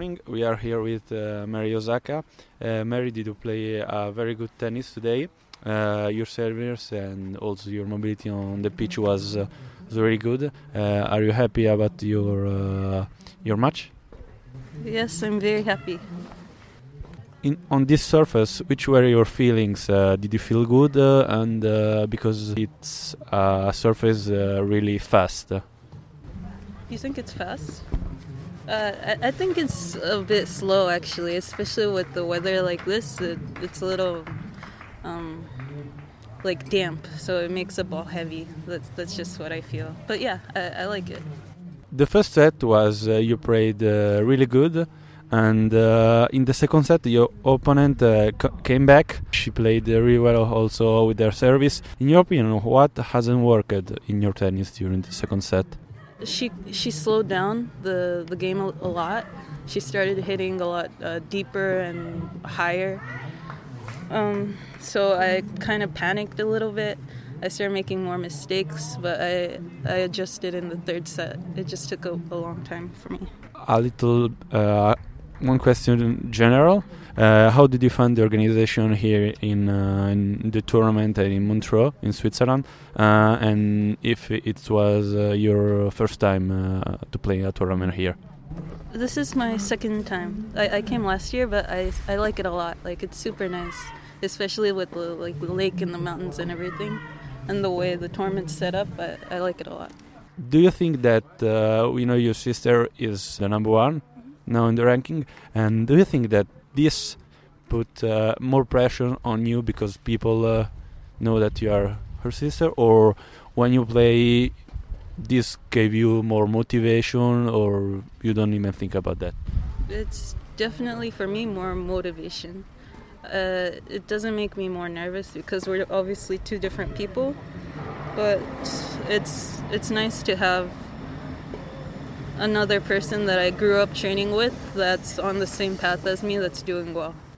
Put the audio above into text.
morning. We are here with Mary Osaka. Mary, did you play very good tennis today? Your service and also your mobility on the pitch was very good. Are you happy about your match? Yes, I'm very happy. On this surface, which were your feelings? Did you feel good? Because it's a surface really fast. You think it's fast? I think it's a bit slow, actually, especially with the weather like this. It's a little like damp, so it makes the ball heavy. That's just what I feel. But yeah, I like it. The first set was you played really good, and in the second set your opponent came back. She played really well also with her service. In your opinion, what hasn't worked in your tennis during the second set? She slowed down the game a lot. She started hitting a lot deeper and higher. So I kind of panicked a little bit. I started making more mistakes, but I adjusted in the third set. It just took a long time for me. One question in general. How did you find the organization here in the tournament in Montreux, in Switzerland? And if it was your first time to play a tournament here? This is my second time. I came last year, but I like it a lot. Like, it's super nice, especially with the lake and the mountains and everything, and the way the tournament's set up. I like it a lot. Do you think that your sister is the number one now in the ranking? And do you think that this put more pressure on you because people know that you are her sister, or when you play, this gave you more motivation, or you don't even think about that? It's definitely for me more motivation. It doesn't make me more nervous because we're obviously two different people, but it's nice to have another person that I grew up training with that's on the same path as me that's doing well.